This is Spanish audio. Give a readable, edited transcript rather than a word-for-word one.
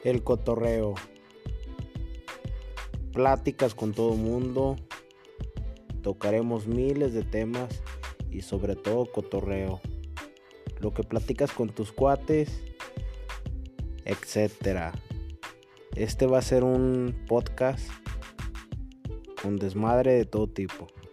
El cotorreo. Pláticas con todo mundo. Tocaremos miles de temas y sobre todo cotorreo. Lo que platicas con tus cuates, etcétera. Este va a ser un podcast con desmadre de todo tipo.